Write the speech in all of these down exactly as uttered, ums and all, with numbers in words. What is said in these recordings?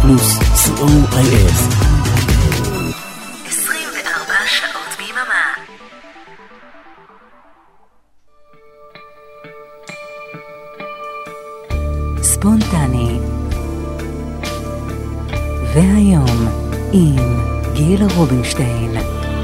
פלוס, סי או איי אס. עשרים וארבע שעות ביממה. ספונטני. והיום עם גיל רובינשטיין.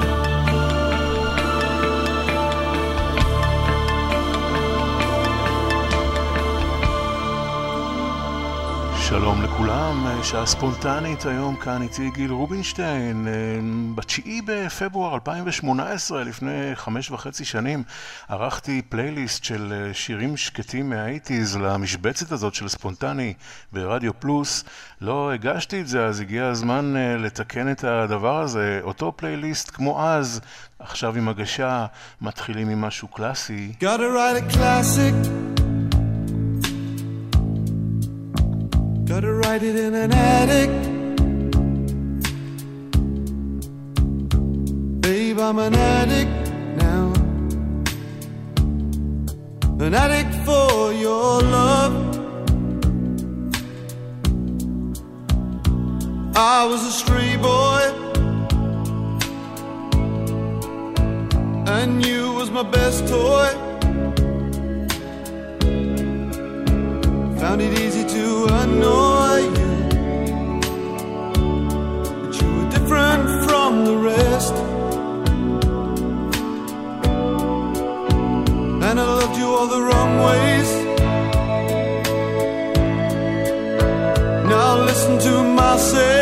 שלום לכולם, שעה ספונטנית, היום כאן איתי גיל רובינשטיין. בתשיעי בפברואר אלפיים ושמונה עשרה, לפני חמש וחצי שנים, ערכתי פלייליסט של שירים שקטים מהאייטיז למשבצת הזאת של ספונטני ברדיו פלוס. לא הגשתי את זה, אז הגיע הזמן לתקן את הדבר הזה. אותו פלייליסט כמו אז, עכשיו עם הגשה, מתחילים עם משהו קלאסי. Gotta write a classic, gotta write it in an attic. Babe, I'm an addict now, an addict for your love. I was a stray boy, and you was my best toy. Found it easy to annoy you, but you were different from the rest. And I loved you all the wrong ways. Now listen to my say.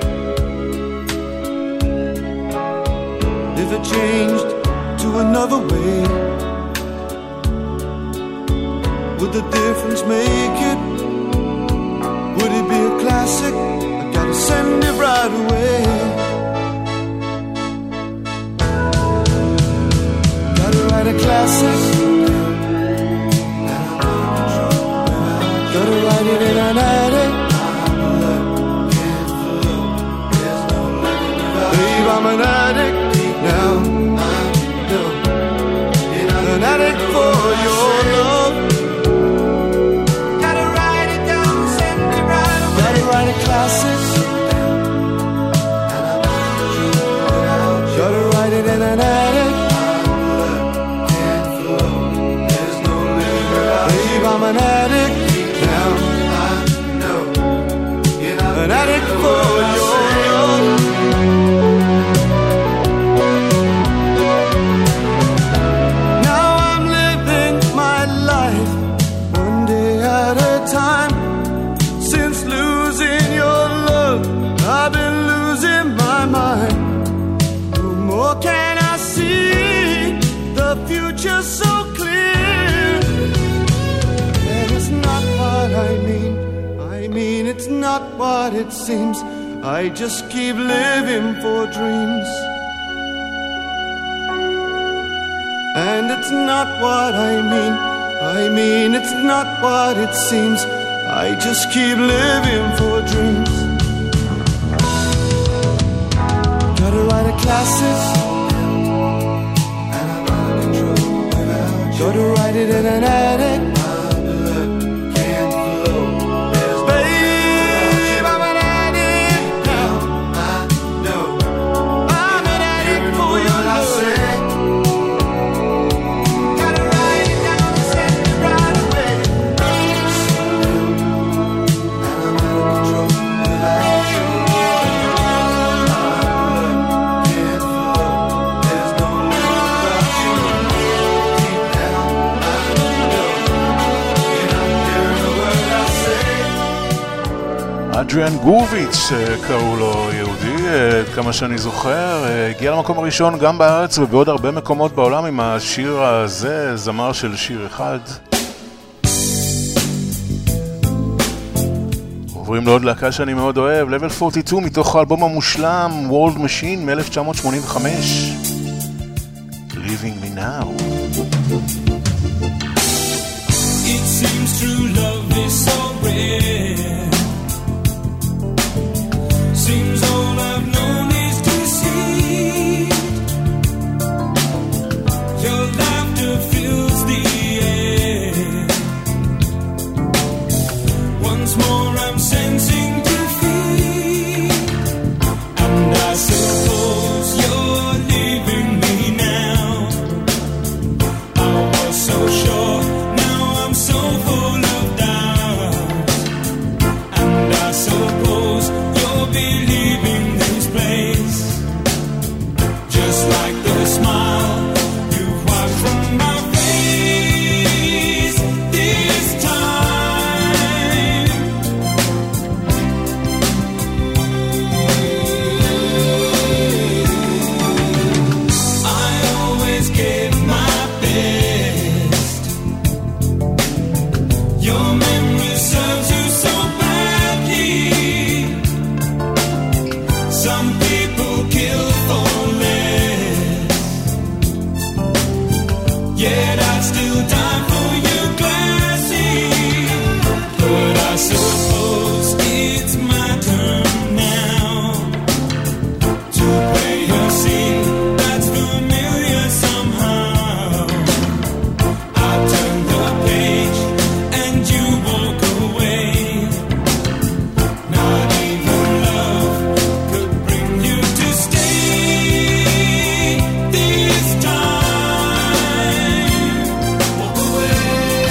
If I changed to another way, would the difference make it? Would it be a classic? I gotta send it right away. Gotta write a classic. Gotta write it in an attic. Babe, I'm an addict now. An addict for your love. Write a classic. Gotta write it in an attic. Babe, I'm an addict now. An addict for your love. Now I'm living my life one day at a time. I've been losing my mind. No more can I see the future so clear. And it's not what I mean. I mean it's not what it seems. I just keep living for dreams. And it's not what I mean. I mean it's not what it seems. I just keep living for dreams. Gotta write a classic, and I'm out of control without you. Gotta write it in an attic. My blood can't flow. Babe, I'm an addict now. I know I'm an addict for your love. Gotta write it down and send it right away. And I'm out of control without you. אדריאן גורביץ' קראו לו, יהודי, כמה שאני זוכר, הגיע למקום הראשון גם בארץ ובעוד הרבה מקומות בעולם עם השיר הזה, זמר של שיר אחד. עוברים לעוד להקה שאני מאוד אוהב, Level ארבעים ושתיים מתוך האלבום המושלם World Machine מ-אלף תשע מאות שמונים וחמש, Leaving Me Now. It seems true love is so rare. Seems all I've known is deceit. Your laughter fills the air. Once more I'm sensing defeat. said I'd still die for you, Glassy. But I suppose it's my turn now to play a scene that's familiar somehow. I turn the page and you walk away. Not even love could bring you to stay this time. Walk away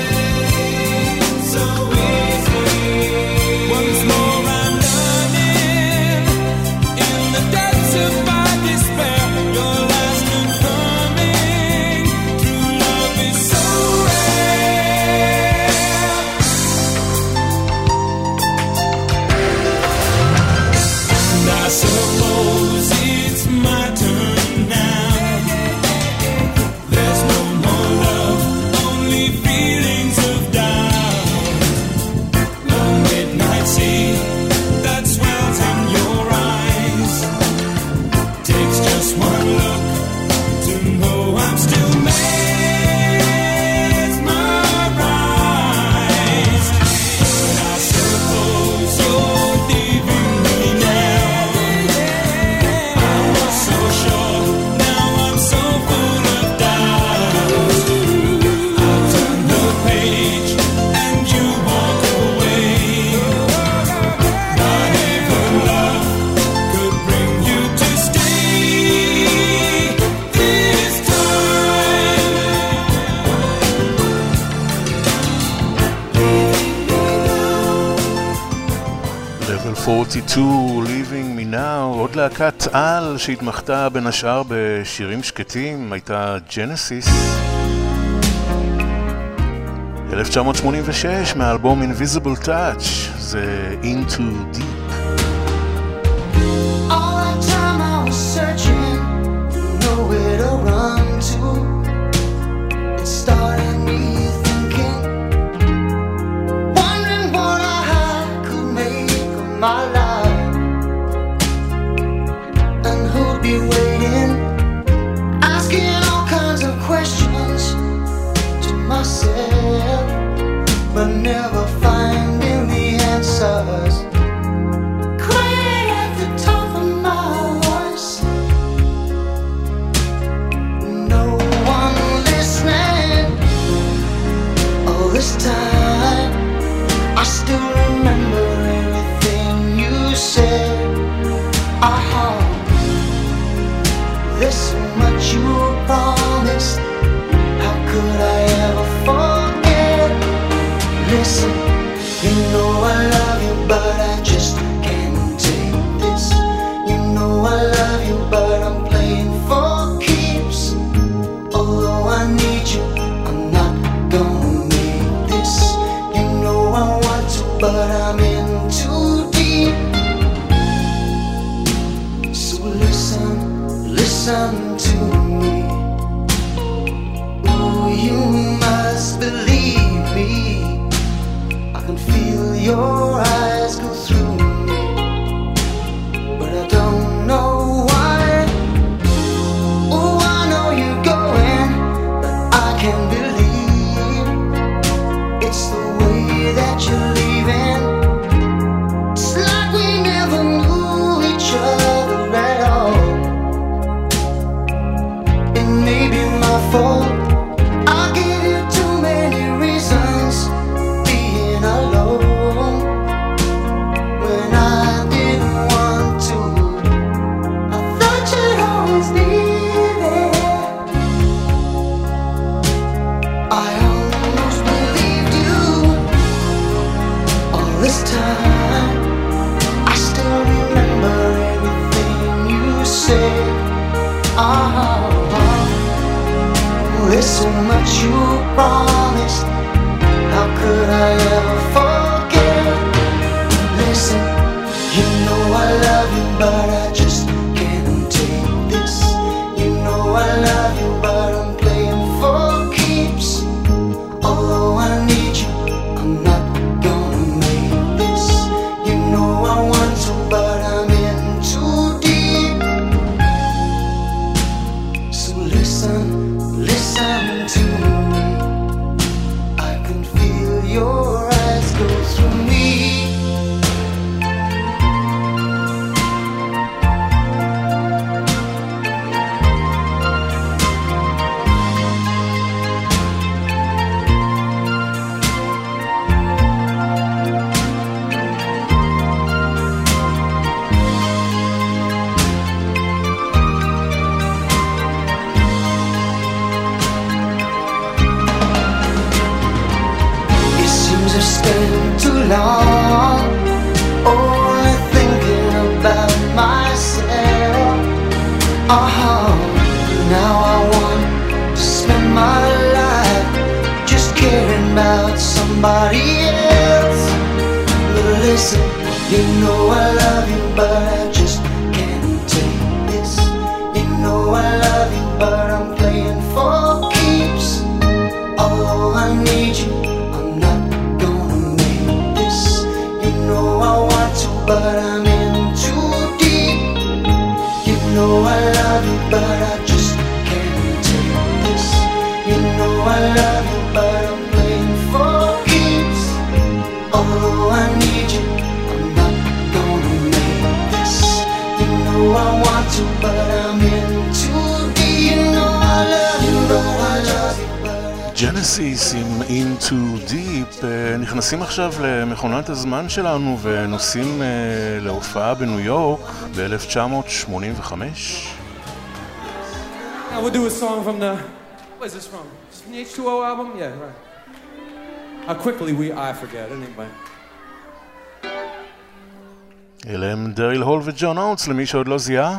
so easy. Once more I'm learning in the depths of my despair. Your last confirming true love is so rare. And I suppose it's my turn now. There's no more love, only feelings of doubt. The midnight sea that swells in your eyes takes just one look to know I'm still mesmerized. But I suppose you're leaving me now. I was so sure, now I'm so full of doubt. I'll turn the page and you walk away. Not even love could bring you to stay this time. Level ארבעים ושתיים, Leaving Me Now. עוד להקת על שהתמחתה בין השאר בשירים שקטים הייתה ג'נסיס. אלף תשע מאות שמונים ושש מהאלבום Invisible Touch, זה Into Deep. All that time I was searching, nowhere to run to. It started me thinking, wondering what I could make of my life, and who'd be waiting, asking all kinds of questions to myself, but never finding the answers. Crying at the top of my voice, no one listening. All this time, I still remember everything you said. Uh-huh. There's so much you promised. How could I ever forget? Listen, you know I love you, but I just can't take this. You know I love you, but I'm playing for keeps. Although I need you, I'm not gonna make this. You know I want to, but I'm in too deep. So listen, listen to me. Oh, you must believe me. I can feel your eyes go through me, but I don't know why. Oh, I know you're going, but I can't believe it's the way that you're leaving. It's like we never knew each other at all. It may be my fault. I gave you too many reasons being alone when I didn't want to. I thought you'd always be there. I almost believed you all this time. I still remember everything you said. Uh-huh. There's so much you promised. How could I ever forget? Listen, you know I love you, but I just can't take this. You know I love you, but I'm playing for keeps. Although I need you, I'm not gonna make this. You know I want to, but I'm in too deep. So listen, listen to somebody else. But listen, you know I love you, but I just can't take this. You know I love you, but I'm playing for keeps. Oh, I need you, I'm not gonna make this. You know I want to, but I'm in too deep. You know I love you, but I just can't take this. You know I love you, but I'm playing for keeps. Oh, I need you, I'm not gonna make this. You know I want to, but I'm in too deep. You know I love you, but I love you, but I ג'נסיס עם In Too Deep. נכנסים עכשיו למכונת הזמן שלנו ונוסעים להופעה בניו יורק ב-אלף תשע מאות שמונים וחמש. Now we'll do a song from the... What is this from? Is it from the H two O album? Yeah, right. How quickly we... I forget, anyway. אלה הם דריל הול וג'ון אוטס, למי שעוד לא זיהה.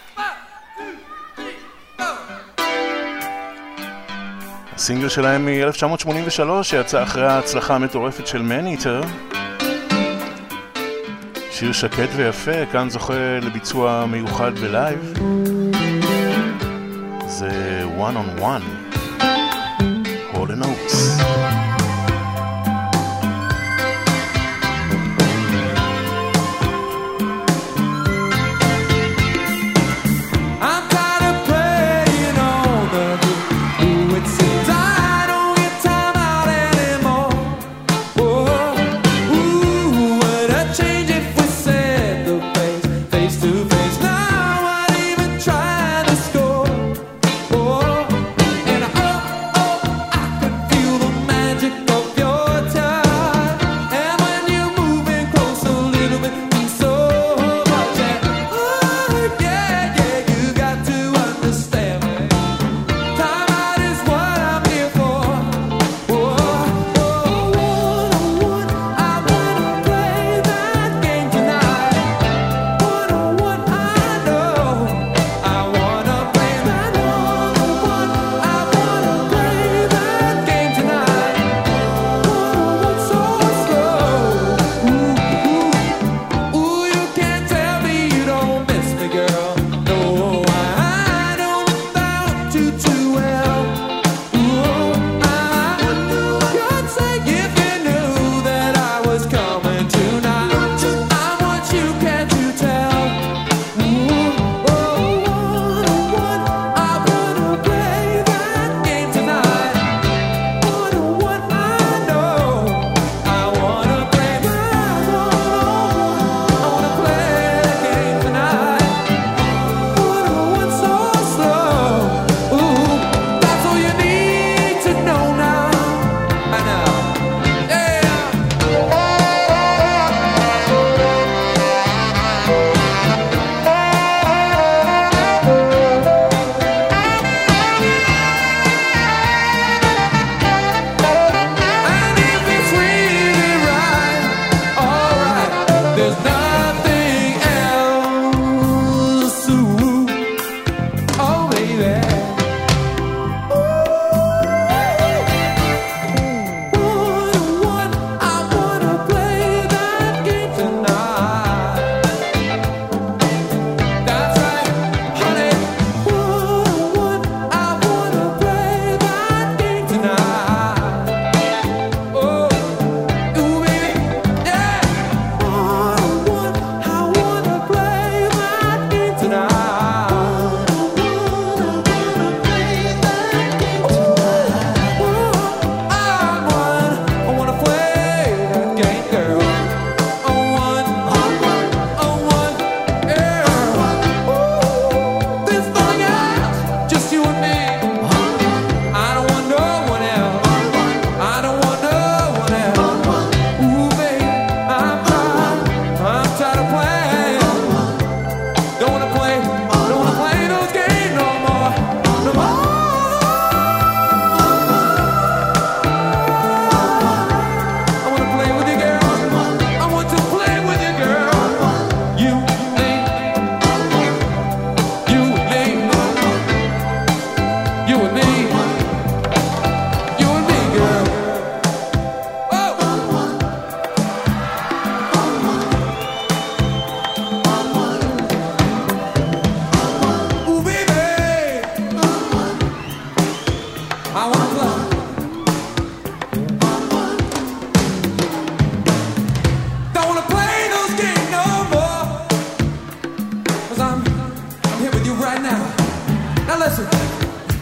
הסינגל שלהם מ-אלף תשע מאות שמונים ושלוש שיצא אחרי ההצלחה המטורפת של Man-Eater. שיר שקט ויפה, כאן זוכה לביצוע מיוחד בלייב. זה One on One, Hall and Oates. The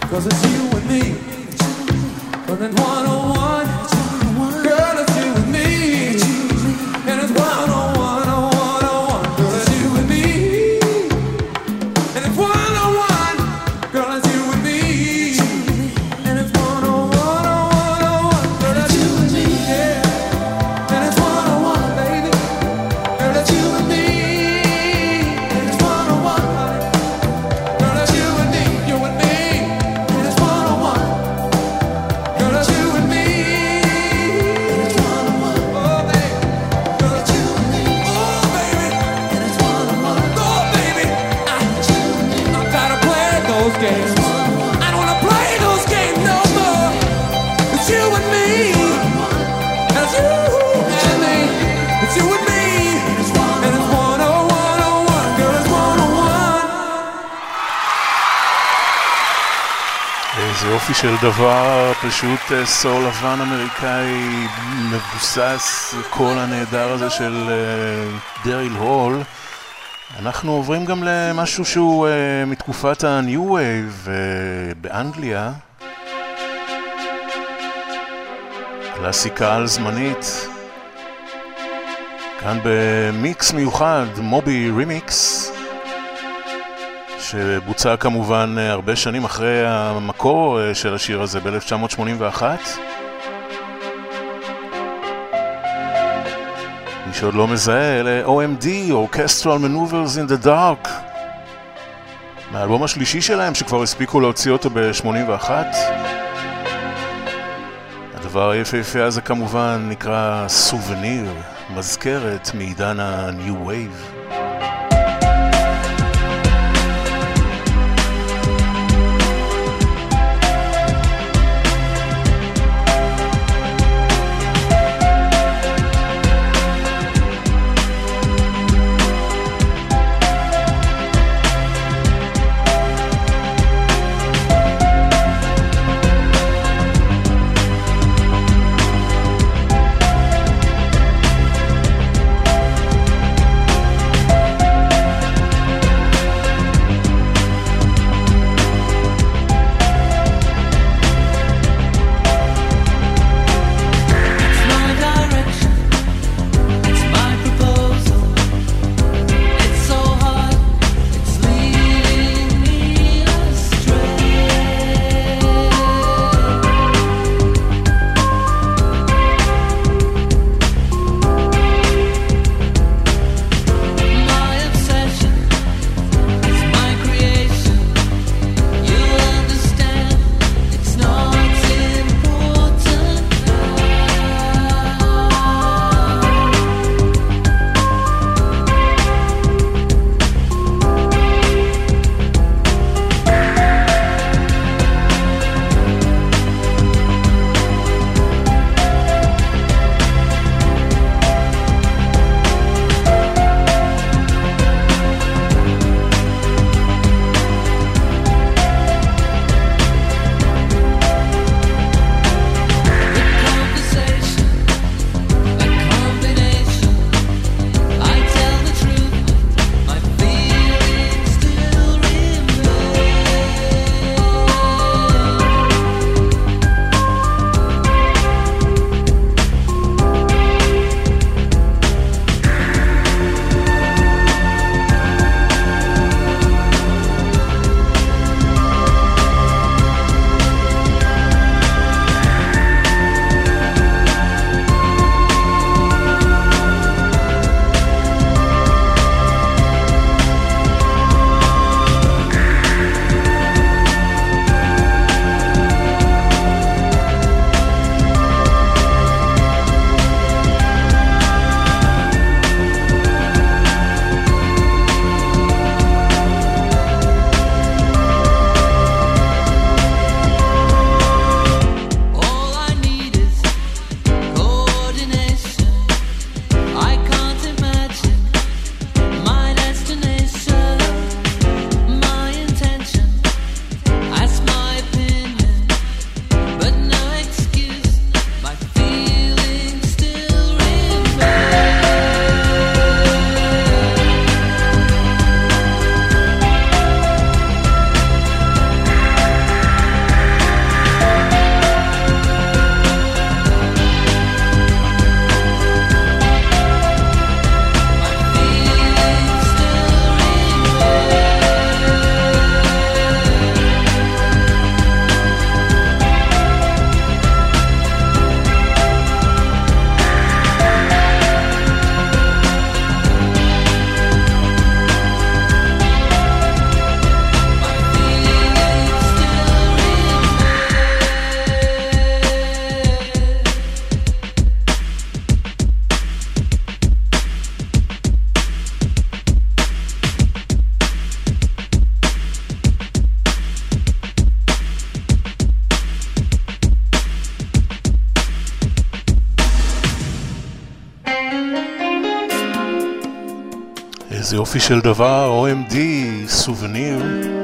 'cause it's you and me. And it's one oh one, girl, it's you and me. And it's one oh one, oh one, oh one, girl, it's you and me. And it's one oh one, girl, it's you and me. And it's one oh one, oh one, oh one, girl, it's you and me. Yeah. And it's one oh one, baby, girl, it's you and me. And it's one oh one, honey, girl, it's you and me, you and me. And it's one oh one, girl, it's you and me. And it's one oh one, oh baby, girl, it's you and me. Oh baby, and it's one oh one, oh baby, I, I'm tired of playing those games. I don't wanna play those games no more. It's you and me. It's you and me. It's you and me. And it's one oh one, oh one, girl, it's one oh one. איזה יופי של דבר, פשוט אה, סול לבן אמריקאי מבוסס, קול הנהדר הזה של אה, דריל הול. אנחנו עוברים גם למשהו שהוא אה, מתקופת ה-New Wave אה, באנגליה. קלאסיקה על זמנית. כאן במיקס מיוחד, מובי רימיקס, שבוצע כמובן הרבה שנים אחרי המקור של השיר הזה ב-אלף תשע מאות שמונים ואחת. מי שעוד לא מזהה, אלה O M D, Orchestral Maneuvers in the Dark, מהאלבום השלישי שלהם שכבר הספיקו להוציא אותו ב-שמונים ואחת. הדבר היפהפה הזה כמובן נקרא סובניר, מזכרת מעידן ה-New Wave. איזה יופי של דבר, או אם די, סובניר.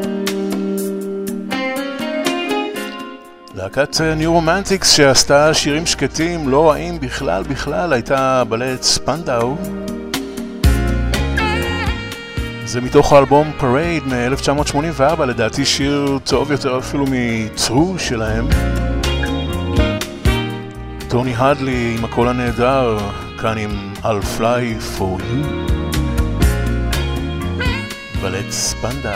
להקת ניו רומנטיקס שעשתה שירים שקטים, לא רעים בכלל בכלל, הייתה בלט ספנדאו. זה מתוך האלבום פרייד מ-אלף תשע מאות שמונים וארבע, לדעתי שיר טוב יותר אפילו מ-True שלהם. טוני הדלי עם הקול הנהדר, כאן עם I'll Fly For You. בלט ספנדאו.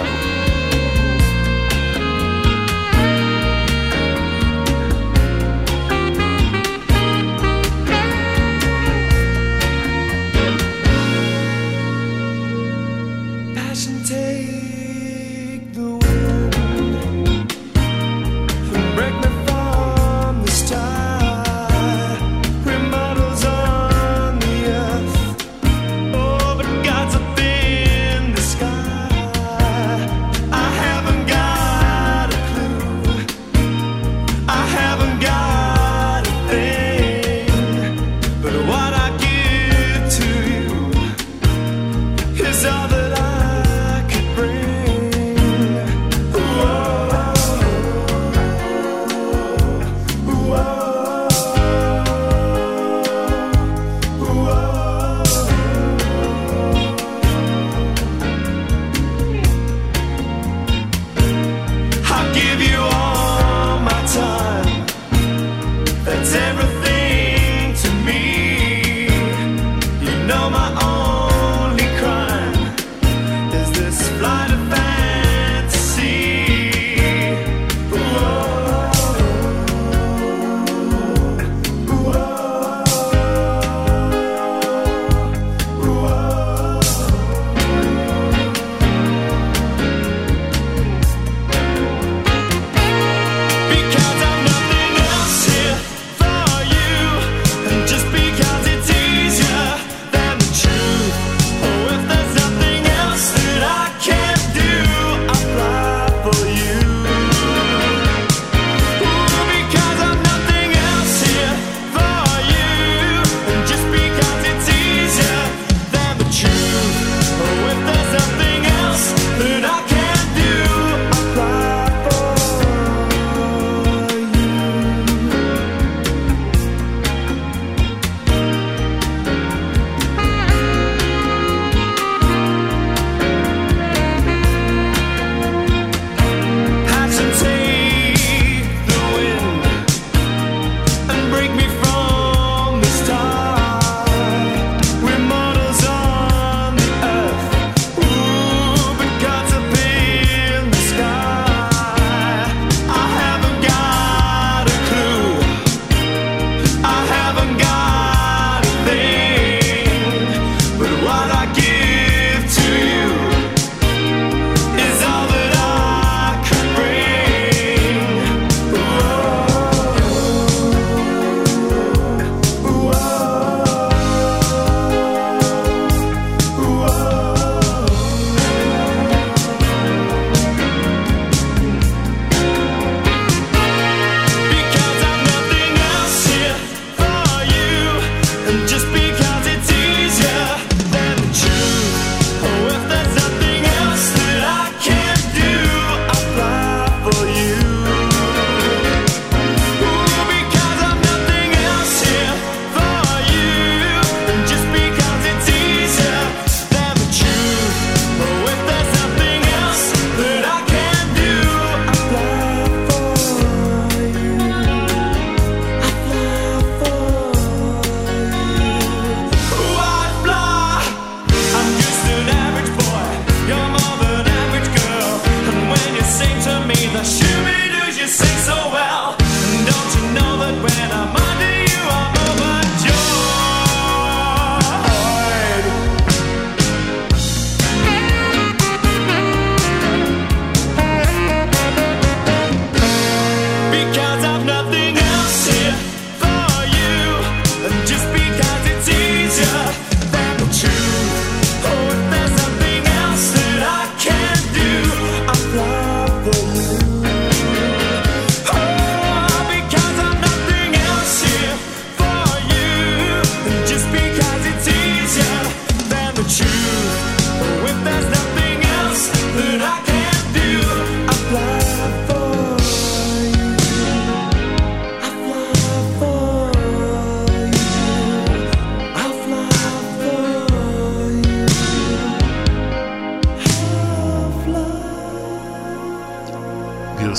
Oh, but God's up in the sky.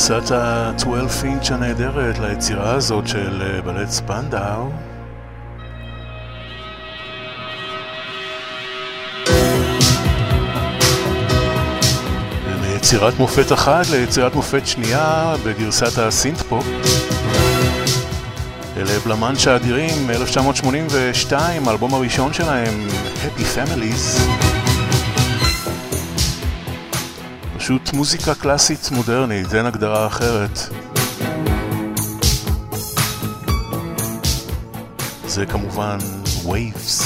גרסת ה-שתים עשרה אינץ' הנהדרת ליצירה הזאת של בלט ספנדאו. מיצירת מופת אחת ליצירת מופת שנייה בגרסת הסינט-פופ. אלה בלמנצ'ה אדירים, אלף תשע מאות שמונים ושתיים, האלבום הראשון שלהם, Happy Families. פשוט מוזיקה קלאסית מודרנית, אין הגדרה אחרת. זה כמובן Waves.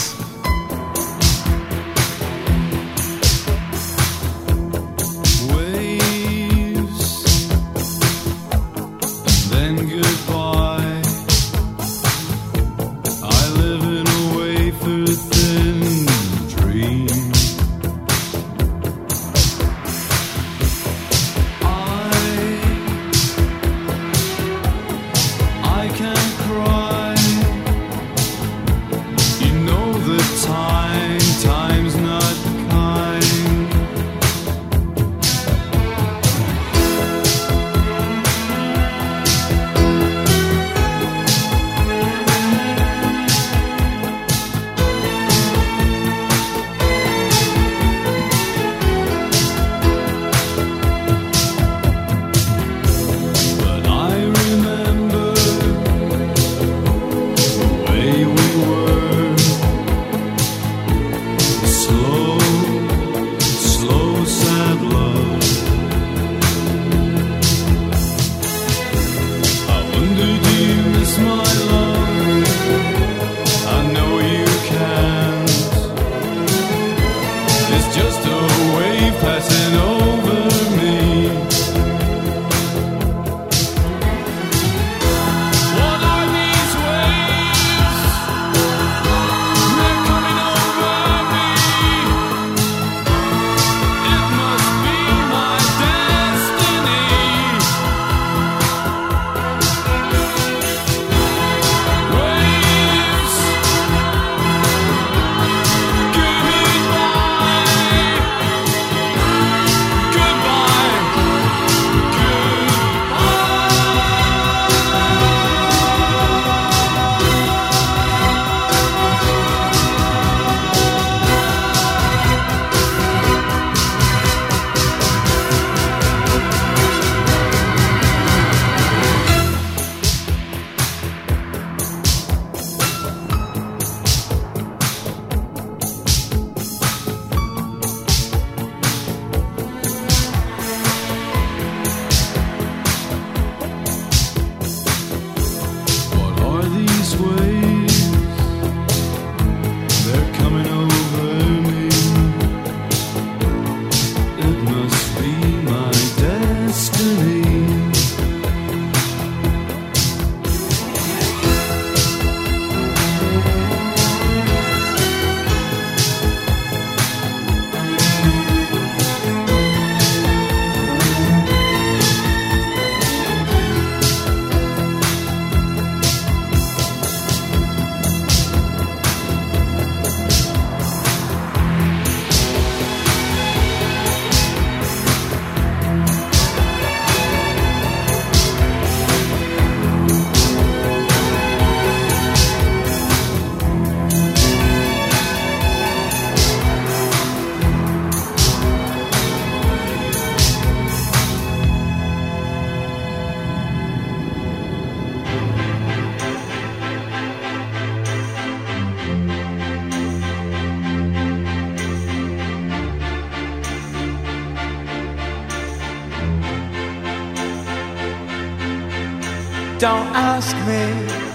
Don't ask me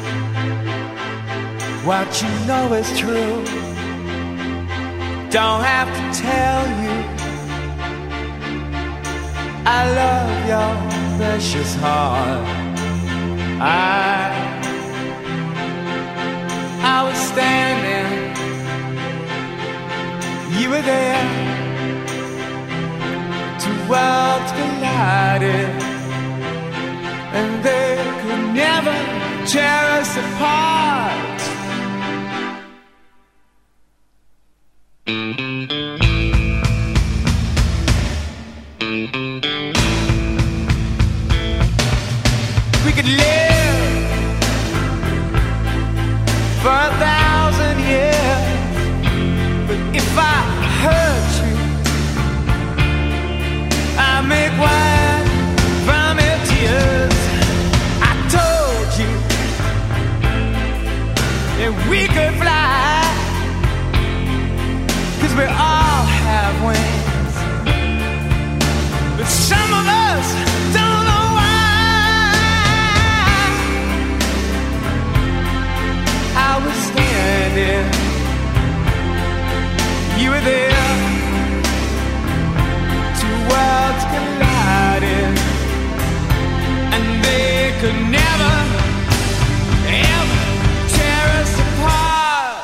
what you know is true. Don't have to tell you I love your precious heart. I I was standing, you were there. Two worlds collided, and they could never tear us apart. for a thousand years. But if I hurt you, I make wine from your tears. I told you that we could fly, 'cause we all have wings. But some of us don't know why. I was standing, you were there. Two worlds collided, and they could never, ever tear us apart.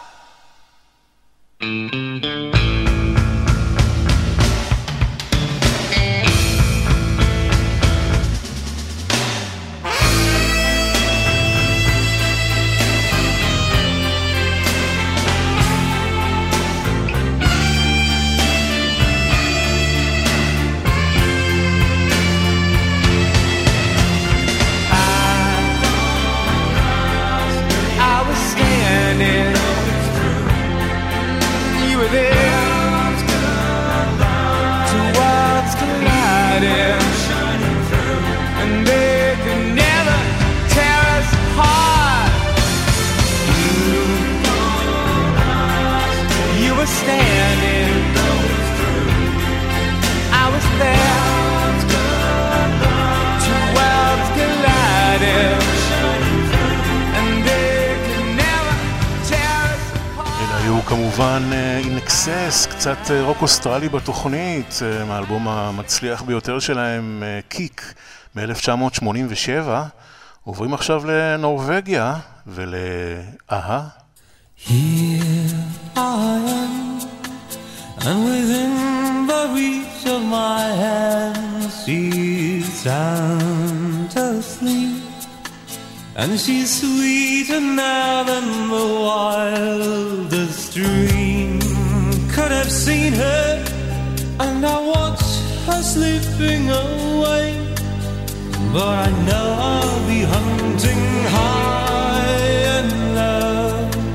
כמובן In Excess, קצת רוק אוסטרלי בתוכנית, מהאלבום המצליח ביותר שלהם, קיק, מ-אלף תשע מאות שמונים ושבע. עוברים עכשיו לנורווגיה ולאהה. Here I am, and within the reach of my hand she's sound asleep. And she's sweeter now than the wildest dream could have seen her. And I watch her slipping away, but I know I'll be hunting high and low.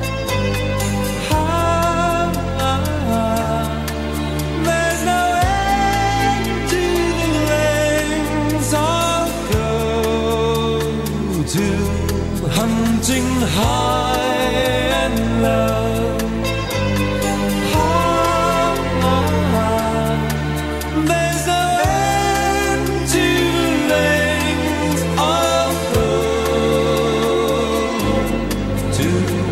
High, high. There's no end to the lengths I'll go to, hunting high and low. High, high. There's no end to the lengths I'll go to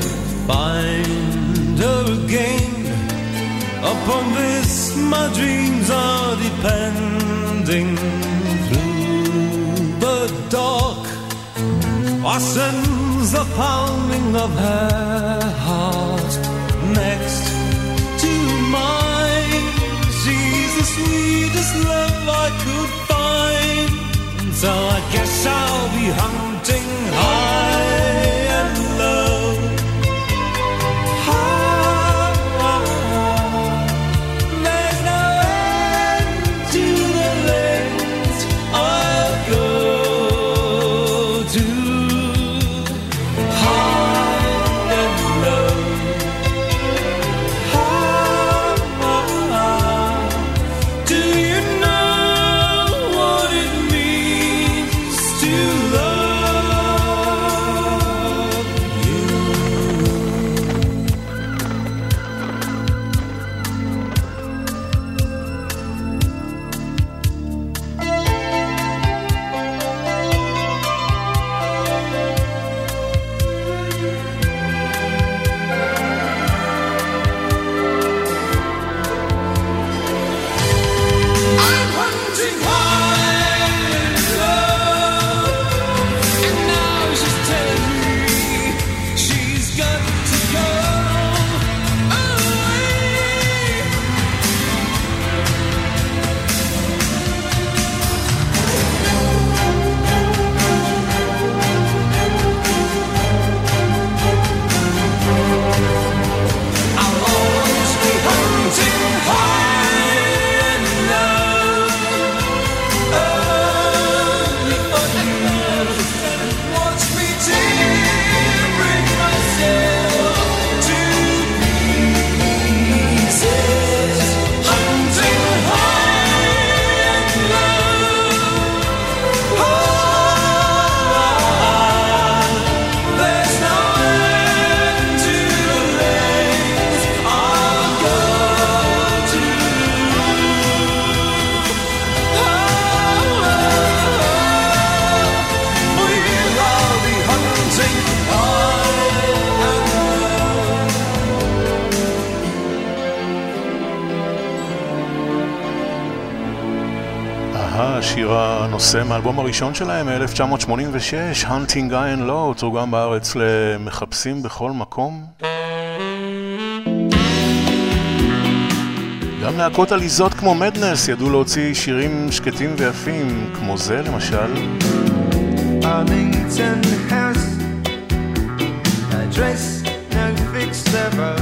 find her again. Upon this my dreams are depending. Through the dark I sense the pounding of her heart next to mine. She's the sweetest love I could find, and so I guess I'll be hunting high and low. High, high. There's no end to the lengths I'll go to. Love השיר הנושא מאלבום הראשון שלהם מ-אלף תשע מאות שמונים ושש, Hunting High and Low, תורגם בארץ למחפשים בכל מקום. גם להקות עליזות כמו מדנס ידעו להוציא שירים שקטים ויפים, כמו זה למשל. Arlington House, address no fixed ever.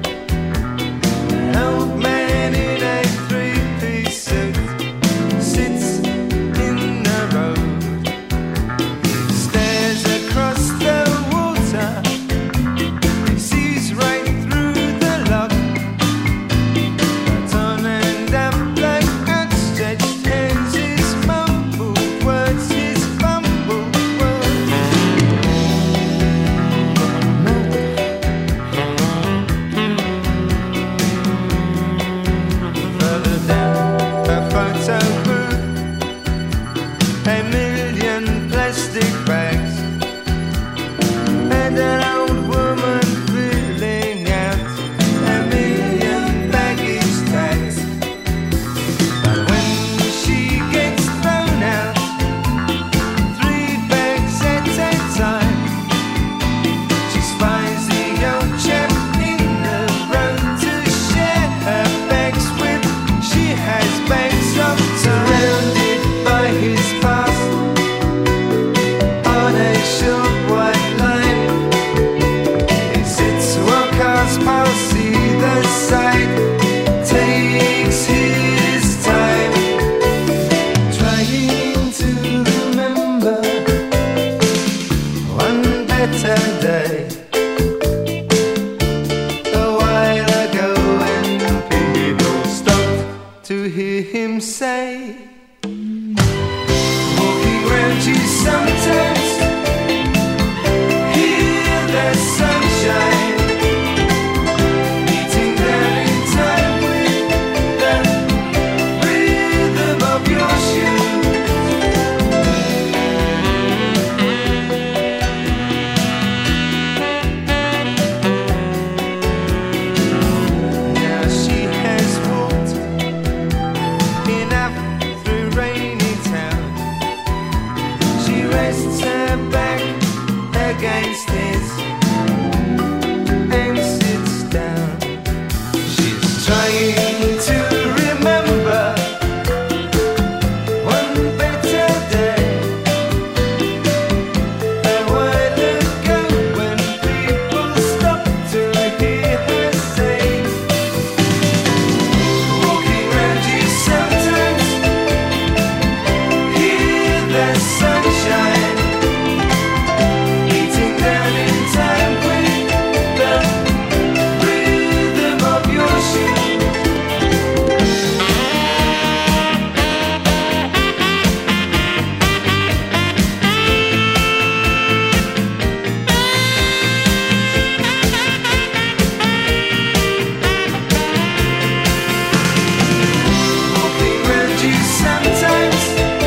An old man in a three-piece suit sits in the road. He stares across the water. He sees right through the lock. But on and up like outstretched hands, his mumbled words, his fumbled words. Further down a photo booth, a million plastic bags, and an old woman filling out a million baggage tags. But when she gets thrown out, three bags at a time, she spies the old chap in the road to share her bags with. She has bags of surrounded by his past on a short white line. He sits while cars pass either side, takes his time, trying to remember one better day. A while ago when people stopped to hear him say, walking round you sometimes, hear the sunshine, beating down in time with the rhythm of your shoes. Now she has walked enough through rainy town. She rests her back against his and sits down. She's trying to remember one better day. A while ago when people stopped to hear her say, walking round you sometimes, hear the sunshine, beating down in time with the rhythm of your shoes. Walking round you sometimes,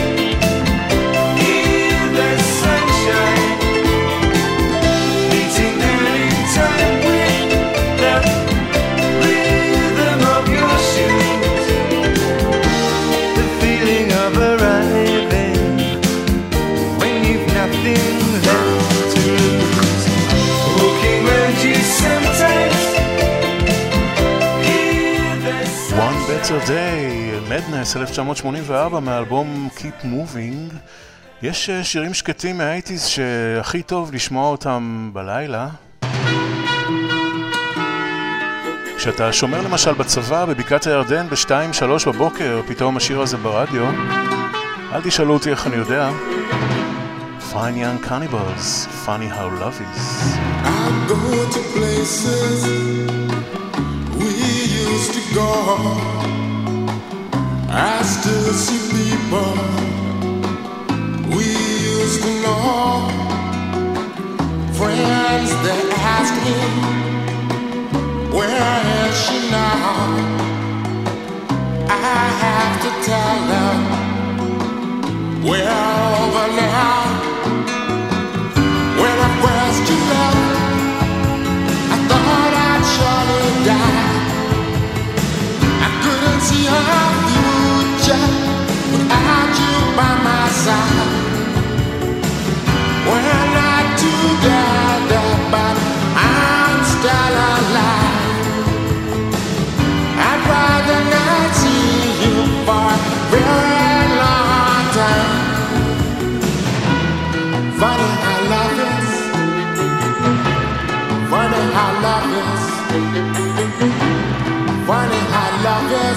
hear the sunshine, beating down in time with the rhythm of your shoes. The feeling of arriving when you've nothing left to lose. Walking round you sometimes, hear the One Better sunshine. Day, מדנס, אלף תשע מאות שמונים וארבע, מאלבום Keep Moving. יש אה, שירים שקטים מה-שמונים שהכי טוב לשמוע אותם בלילה. כשאתה שומר למשל בצבא בבקעת הירדן ב-שתיים שלוש בבוקר, פתאום השיר הזה ברדיו. אל תשאלו אותי איך אני יודע. Fine Young Cannibals, Funny How Love Is. I go to places we used to go. I still see people we used to know. Friends that ask me, where is she now? I have to tell them we're over now. When I first you left, I thought I'd surely die. I couldn't see our future without you by this.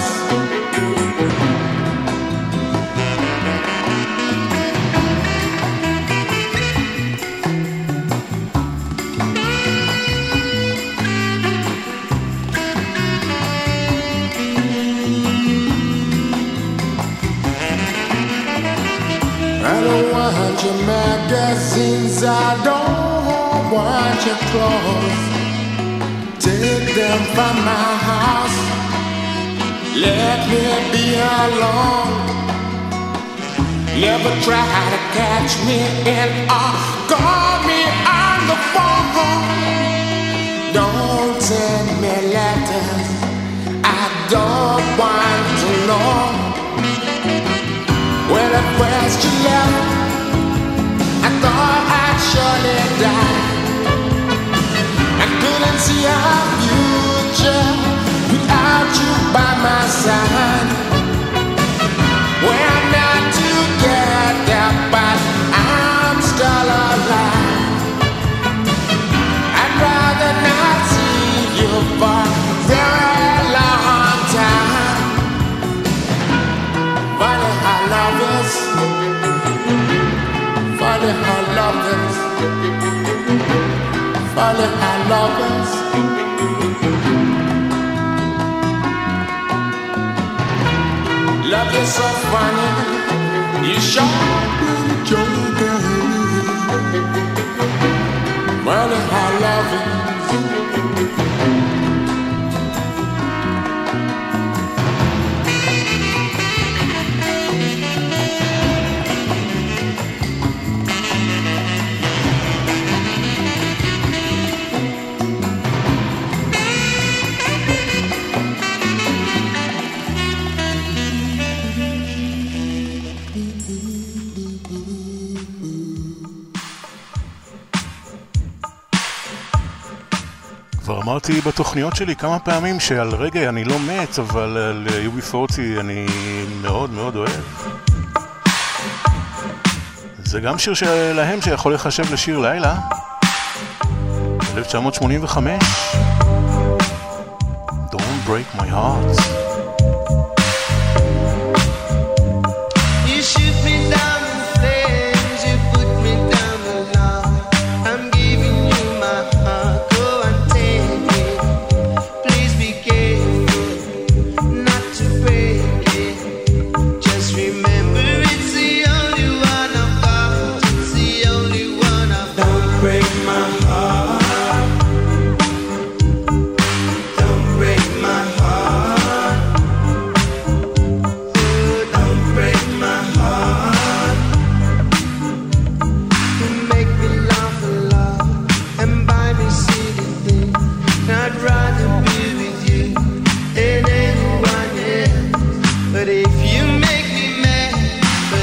I don't want your magazines, I don't want your clothes. Take them from my house, let me be alone. Never try to catch me in or call me on the phone. Don't send me letters, I don't want to know. When at first you left, I thought I'd surely die. I couldn't see our future without you by my side. We're not together, but I'm still alive. I'd rather not see you for a very long time. Funny how love is. Funny how love is. Funny how love is. Love is so funny. You sure been joking. Funny how love is. כבר אמרתי בתוכניות שלי כמה פעמים שעל רגע אני לא מת, אבל על יו בי פורטי אני מאוד מאוד אוהב. זה גם שיר שלהם שיכול לחשב לשיר לילה. אלף תשע מאות שמונים וחמש. Don't break my heart.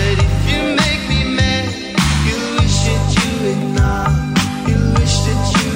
Wish that you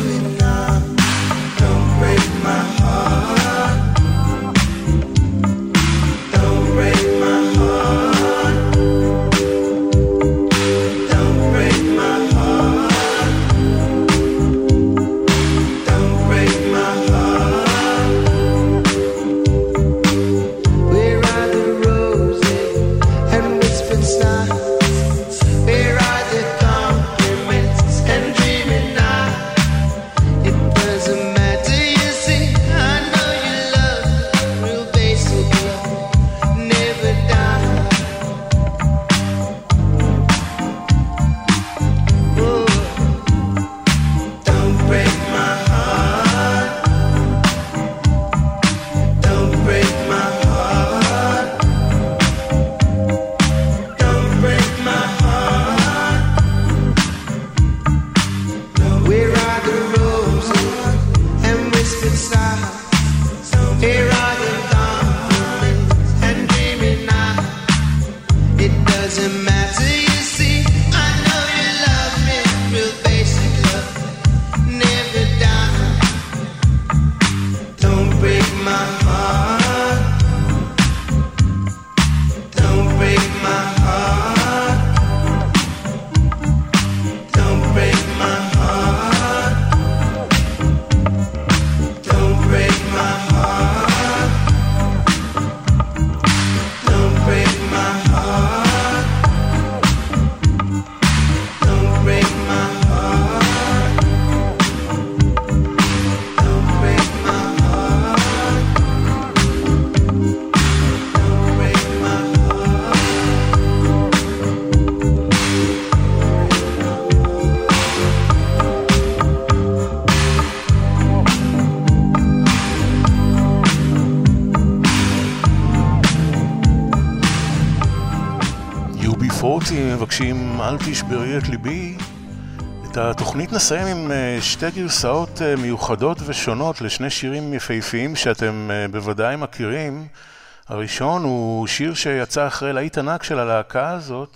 סקורטי מבקשים אל תשברי את ליבי. את התוכנית נסיים עם שתי גרסאות מיוחדות ושונות לשני שירים יפהפיים שאתם בוודאי מכירים. הראשון הוא שיר שיצא אחרי להיט ענק של הלהקה הזאת.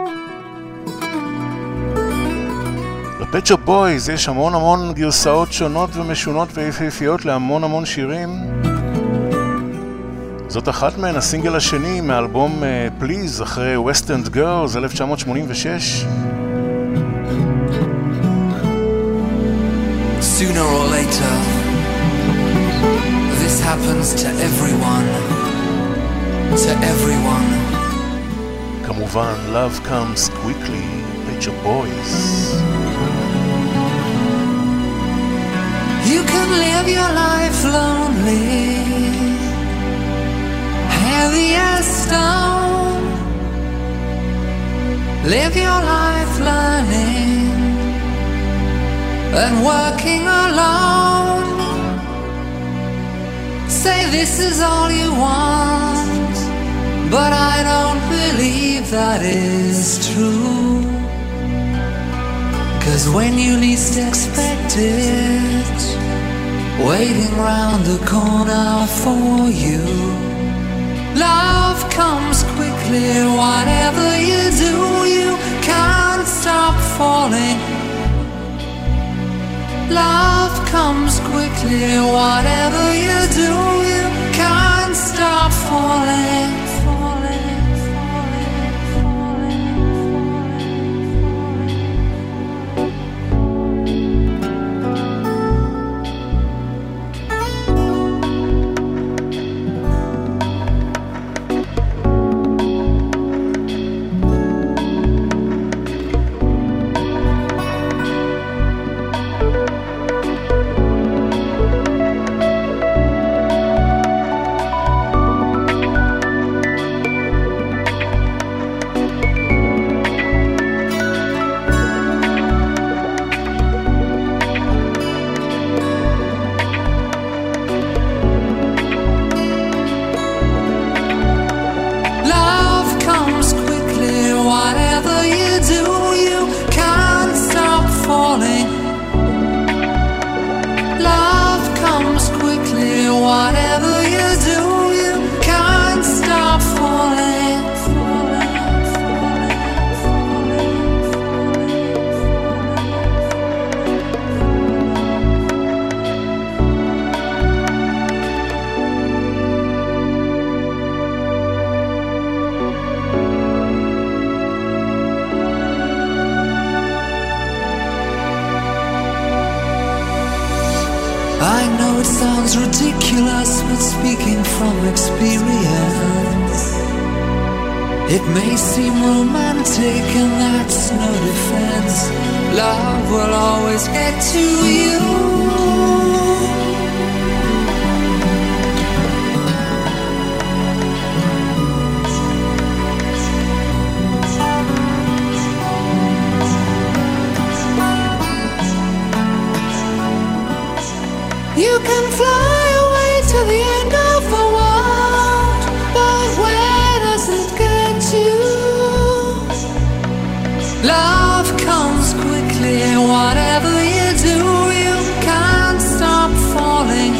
לפט שופ בויז יש המון המון גרסאות שונות ומשונות ויפהפיות להמון המון שירים. זאת אחת מהן, הסינגל השני מאלבום פליז אחרי West End Girls אלף תשע מאות שמונים ושש. Sooner or later, this happens to everyone, to everyone. כמובן, love comes quickly, Pet Shop Boys. You can live your life lonely, heavy as stone. Live your life learning and working alone. Say this is all you want, but I don't believe that is true. 'Cause when you least expect it, waiting round the corner for you, love comes quickly. Whatever you do, you can't stop falling. Love comes quickly. Whatever you do, you can't stop falling. Ridiculous, but speaking from experience, it may seem romantic, and that's no defense. Love will always get to you. You can fly away to the end of the world, but where does it get you? Love comes quickly. Whatever you do, you can't stop falling.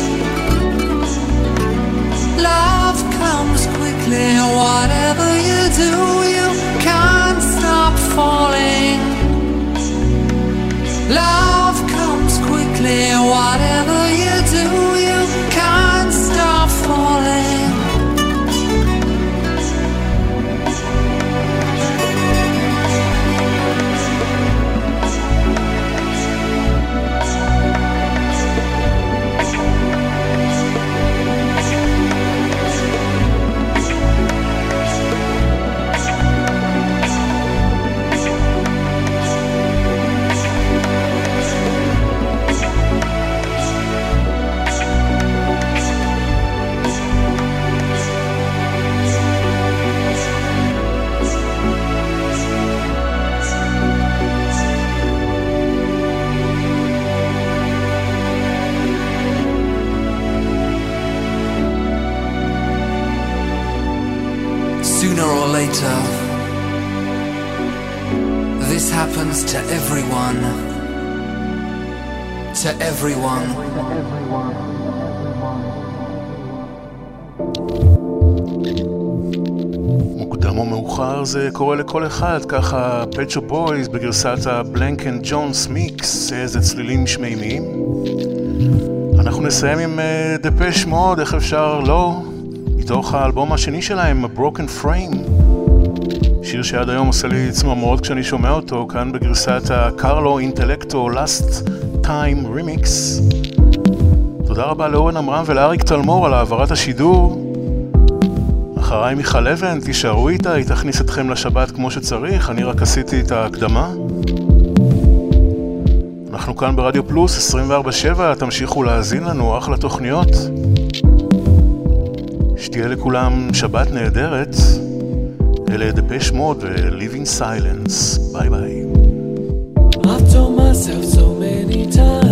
Love comes quickly. Whatever you do, you can't stop falling. Love comes quickly. Whatever you do, you can't stop falling. Sooner or later, happens to everyone. To everyone. מוקדם או מאוחר זה קורה לכל אחד, ככה Pet Shop Boys בגרסת ה-Blank and Jones Mix, איזה צלילים שמימיים. אנחנו נסיים עם uh, Depeche Mode, איך אפשר לא, מתוך האלבום השני שלהם, Broken Frame, שיר שעד היום עושה לי צמרמורות כשאני שומע אותו, כאן בגרסת ה-Carlo Intellecto Last Time Remix. תודה רבה לאורן אמרם ולאריק תלמור על העברת השידור. אחריי מיכל אבן, תישארו איתה, היא תכניס אתכם לשבת כמו שצריך, אני רק עשיתי את ההקדמה. אנחנו כאן ברדיו פלוס עשרים וארבע שבע, תמשיכו להאזין לנו, אחלה תוכניות. שתהיה לכולם שבת נהדרת. אלה Depeche Mode ו-Live in Silence. ביי ביי. I've told myself so many times